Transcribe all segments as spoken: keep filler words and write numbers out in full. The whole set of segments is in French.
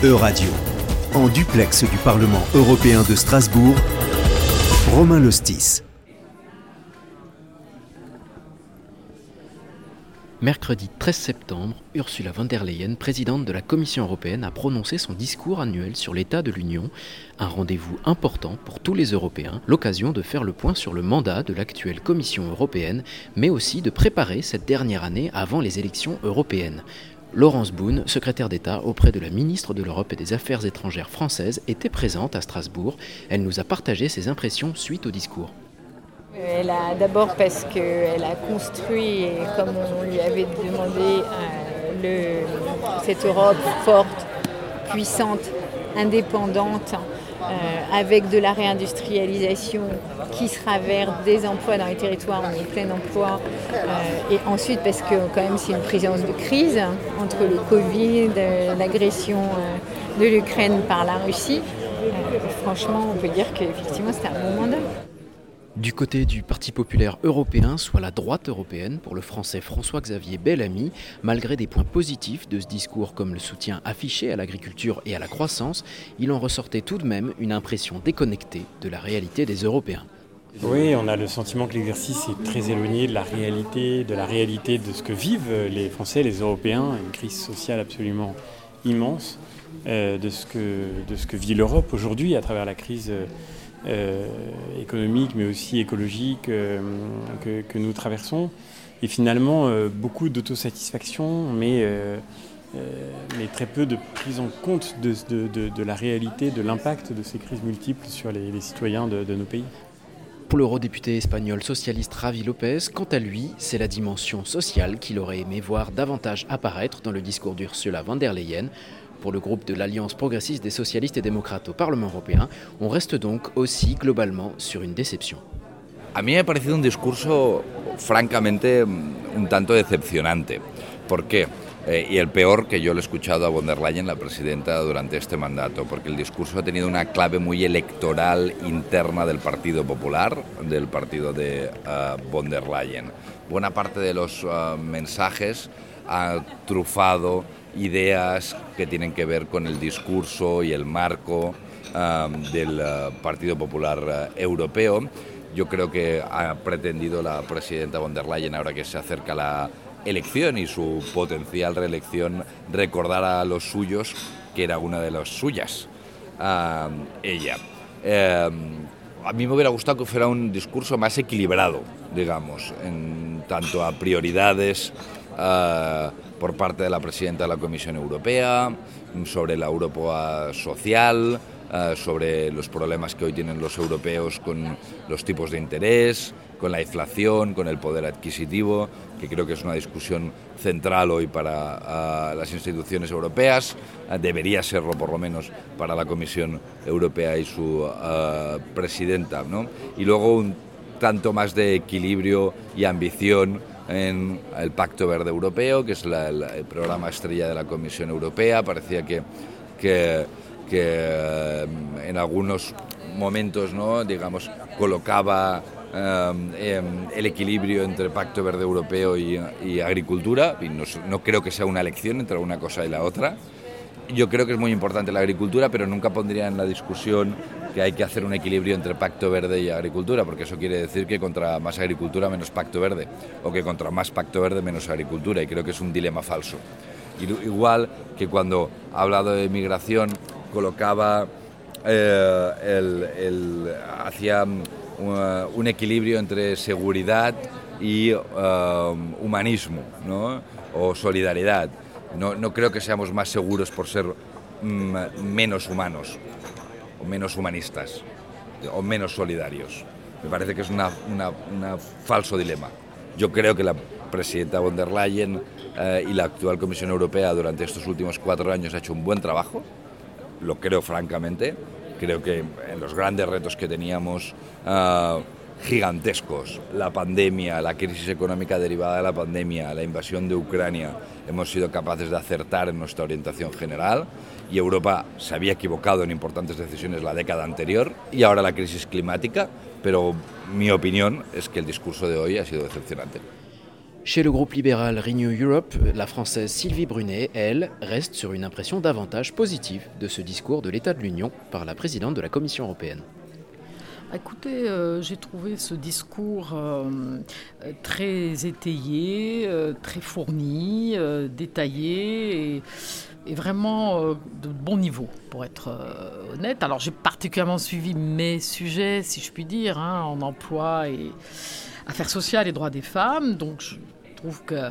E-Radio. En duplex du Parlement européen de Strasbourg, Romain Lostis. Mercredi treize septembre, Ursula von der Leyen, présidente de la Commission européenne, a prononcé son discours annuel sur l'état de l'Union, un rendez-vous important pour tous les Européens, l'occasion de faire le point sur le mandat de l'actuelle Commission européenne, mais aussi de préparer cette dernière année avant les élections européennes. Laurence Boone, secrétaire d'État auprès de la ministre de l'Europe et des Affaires étrangères française, était présente à Strasbourg. Elle nous a partagé ses impressions suite au discours. Elle a d'abord parce qu'elle a construit, comme on lui avait demandé, le, cette Europe forte, puissante, indépendante, euh, avec de la réindustrialisation qui sera vers des emplois dans les territoires, on est plein emploi. Euh, et ensuite parce que quand même c'est une présidence de crise entre le Covid, euh, l'agression euh, de l'Ukraine par la Russie. Euh, franchement, on peut dire qu'effectivement c'était un bon mandat. Du côté du Parti populaire européen, soit la droite européenne, pour le français François-Xavier Bellamy, malgré des points positifs de ce discours comme le soutien affiché à l'agriculture et à la croissance, il en ressortait tout de même une impression déconnectée de la réalité des Européens. Oui, on a le sentiment que l'exercice est très éloigné de la réalité, de la réalité de ce que vivent les Français, les Européens, une crise sociale absolument immense, euh, de ce que, de ce que vit l'Europe aujourd'hui à travers la crise Euh, économique mais aussi écologique euh, que, que nous traversons et finalement euh, beaucoup d'autosatisfaction mais, euh, euh, mais très peu de prise en compte de, de, de, de la réalité, de l'impact de ces crises multiples sur les, les citoyens de, de nos pays. Pour l'eurodéputé espagnol socialiste Javi López, quant à lui, c'est la dimension sociale qu'il aurait aimé voir davantage apparaître dans le discours d'Ursula von der Leyen. Pour le groupe de l'Alliance progressiste des socialistes et démocrates au Parlement européen, on reste donc aussi globalement sur une déception. A mí me ha parecido un discurso francamente un tanto decepcionante. ¿Por qué? Eh, y el peor que yo le he escuchado a von der Leyen, la presidenta, durante este mandato, porque el discurso ha tenido una clave muy electoral interna del Partido Popular, del partido de uh, von der Leyen. Buena parte de los uh, mensajes ha trufado ideas que tienen que ver con el discurso y el marco um, del uh, Partido Popular uh, Europeo. Yo creo que ha pretendido la presidenta von der Leyen, ahora que se acerca la elección y su potencial reelección, recordar a los suyos que era una de las suyas, uh, ella. Eh, a mí me hubiera gustado que fuera un discurso más equilibrado, digamos, en tanto a prioridades uh, por parte de la presidenta de la Comisión Europea, sobre la Europa social, uh, sobre los problemas que hoy tienen los europeos con los tipos de interés, con la inflación, con el poder adquisitivo, que creo que es una discusión central hoy para uh, las instituciones europeas, uh, debería serlo por lo menos para la Comisión Europea y su uh, presidenta, ¿no? Y luego un tanto más de equilibrio y ambición en el Pacto Verde Europeo, que es la, el, el programa estrella de la Comisión Europea. Parecía que, que, que en algunos momentos, ¿no?, digamos, colocaba eh, el equilibrio entre Pacto Verde Europeo y, y agricultura, y no, no creo que sea una elección entre una cosa y la otra. Yo creo que es muy importante la agricultura, pero nunca pondría en la discusión que hay que hacer un equilibrio entre Pacto Verde y agricultura, porque eso quiere decir que contra más agricultura menos Pacto Verde, o que contra más Pacto Verde menos agricultura, y creo que es un dilema falso. Igual que cuando ha hablado de migración colocaba eh, el, el, hacia un, un equilibrio entre seguridad y uh, humanismo, ¿no?, o solidaridad. No, no creo que seamos más seguros por ser mm, menos humanos, o menos humanistas, o menos solidarios. Me parece que es un falso dilema. Yo creo que la presidenta von der Leyen eh, y la actual Comisión Europea durante estos últimos cuatro años ha hecho un buen trabajo, lo creo francamente. Creo que en los grandes retos que teníamos, uh, gigantescos, la pandemia, la crisis económica derivada de la pandemia, la invasión de Ucrania, hemos sido capaces de acertar en nuestra orientación general, y Europa se había equivocado en importantes decisiones la década anterior, y ahora la crisis climática, pero mi opinión es que el discurso de hoy ha sido decepcionante. Chez le groupe libéral Renew Europe, la Française Sylvie Brunet, elle, reste sur une impression davantage positive de ce discours de l'état de l'Union par la présidente de la Commission européenne. Écoutez, euh, j'ai trouvé ce discours euh, très étayé, euh, très fourni, euh, détaillé et, et vraiment euh, de bon niveau, pour être euh, honnête. Alors j'ai particulièrement suivi mes sujets, si je puis dire, hein, en emploi et affaires sociales et droits des femmes. Donc je trouve que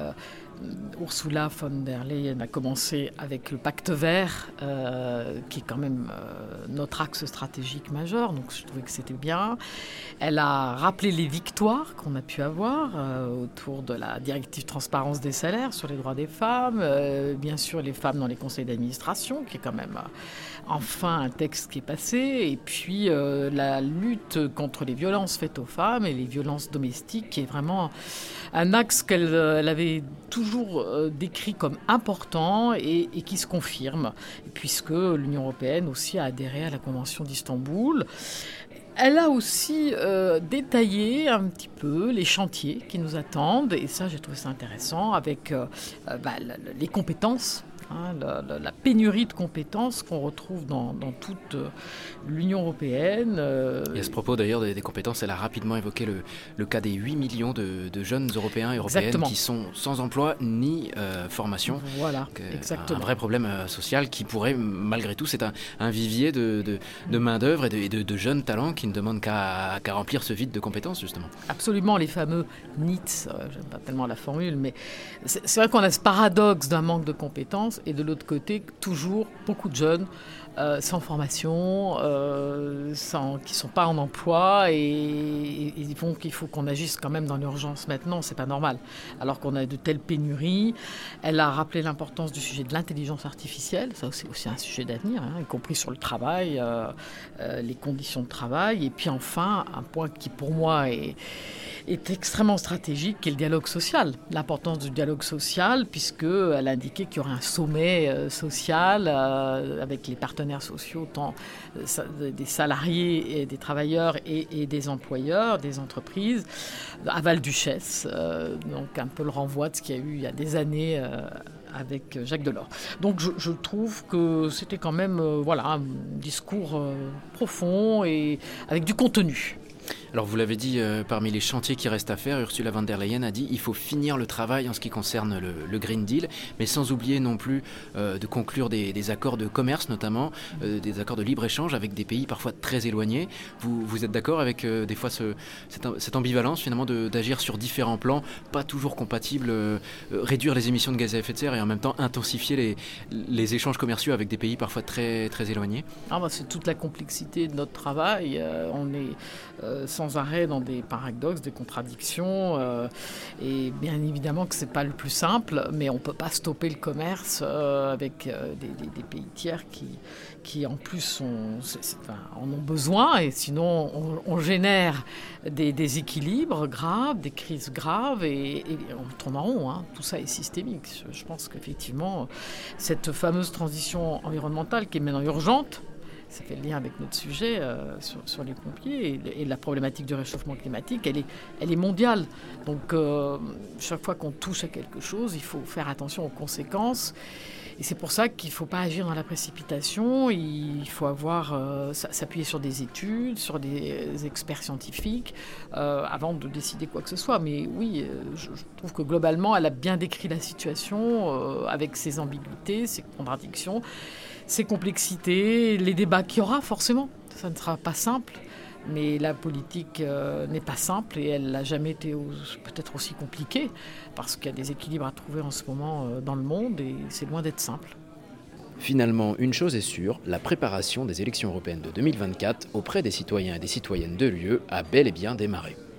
Ursula von der Leyen a commencé avec le pacte vert, euh, qui est quand même euh, notre axe stratégique majeur, donc je trouvais que c'était bien. Elle a rappelé les victoires qu'on a pu avoir euh, autour de la directive transparence des salaires sur les droits des femmes, euh, bien sûr les femmes dans les conseils d'administration, qui est quand même euh, enfin un texte qui est passé, et puis euh, la lutte contre les violences faites aux femmes et les violences domestiques, qui est vraiment un axe qu'elle elle avait toujours euh, décrit comme important et, et qui se confirme, puisque l'Union européenne aussi a adhéré à la Convention d'Istanbul. Elle a aussi euh, détaillé un petit peu les chantiers qui nous attendent, et ça j'ai trouvé ça intéressant, avec euh, bah, les compétences. Hein, la, la, la pénurie de compétences qu'on retrouve dans, dans toute euh, l'Union européenne. Euh... Et à ce propos d'ailleurs des, des compétences, elle a rapidement évoqué le, le cas des huit millions de, de jeunes Européens et Européennes exactement. Qui sont sans emploi ni euh, formation. Voilà, que, exactement. Un vrai problème euh, social qui pourrait, malgré tout, c'est un, un vivier de, de, de main-d'œuvre et, de, et de, de jeunes talents qui ne demandent qu'à, qu'à remplir ce vide de compétences, justement. Absolument, les fameux N I T S, euh, j'aime pas tellement la formule, mais c'est, c'est vrai qu'on a ce paradoxe d'un manque de compétences. Et de l'autre côté, toujours beaucoup de jeunes euh, sans formation, euh, sans, qui ne sont pas en emploi et, et, et donc il faut qu'on agisse quand même dans l'urgence maintenant, c'est pas normal. Alors qu'on a de telles pénuries. Elle a rappelé l'importance du sujet de l'intelligence artificielle, ça c'est aussi un sujet d'avenir, hein, y compris sur le travail, euh, euh, les conditions de travail. Et puis enfin, un point qui pour moi est, est extrêmement stratégique, qui est le dialogue social. L'importance du dialogue social, puisqu'elle a indiqué qu'il y aurait un sommet euh, social euh, avec les partenaires sociaux, tant euh, des salariés et des travailleurs et, et des employeurs, des entreprises, à Val-Duchesse, euh, donc un peu le renvoi de ce qu'il y a eu il y a des années euh, avec Jacques Delors. Donc je, je trouve que c'était quand même euh, voilà, un discours euh, profond et avec du contenu. Alors vous l'avez dit, euh, parmi les chantiers qui restent à faire, Ursula von der Leyen a dit qu'il faut finir le travail en ce qui concerne le, le Green Deal, mais sans oublier non plus euh, de conclure des, des accords de commerce notamment, euh, des accords de libre-échange avec des pays parfois très éloignés. Vous, vous êtes d'accord avec euh, des fois ce, cette, cette ambivalence finalement de, d'agir sur différents plans, pas toujours compatibles, euh, réduire les émissions de gaz à effet de serre et en même temps intensifier les, les échanges commerciaux avec des pays parfois très, très éloignés? Ah bah, c'est toute la complexité de notre travail. Euh, on est euh, sans arrêt dans des paradoxes, des contradictions, euh, et bien évidemment que c'est pas le plus simple, mais on peut pas stopper le commerce euh, avec euh, des, des, des pays tiers qui, qui en plus sont, c'est, c'est, enfin, en ont besoin, et sinon on, on génère des déséquilibres graves, des crises graves, et, et on tourne en rond, hein. Tout ça est systémique. Je, je pense qu'effectivement cette fameuse transition environnementale qui est maintenant urgente, ça fait le lien avec notre sujet euh, sur, sur les pompiers et, et la problématique du réchauffement climatique, elle est, elle est mondiale. Donc euh, chaque fois qu'on touche à quelque chose, il faut faire attention aux conséquences. Et c'est pour ça qu'il ne faut pas agir dans la précipitation, il faut avoir, euh, s'appuyer sur des études, sur des experts scientifiques, euh, avant de décider quoi que ce soit. Mais oui, je, je trouve que globalement, elle a bien décrit la situation, euh, avec ses ambiguïtés, ses contradictions, ses complexités, les débats qu'il y aura forcément. Ça ne sera pas simple, mais la politique euh, n'est pas simple et elle n'a jamais été au, peut-être aussi compliquée, parce qu'il y a des équilibres à trouver en ce moment euh, dans le monde et c'est loin d'être simple. Finalement, une chose est sûre, la préparation des élections européennes de deux mille vingt-quatre auprès des citoyens et des citoyennes de l'U E a bel et bien démarré.